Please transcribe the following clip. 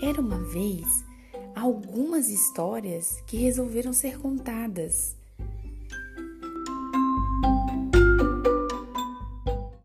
Era uma vez algumas histórias que resolveram ser contadas.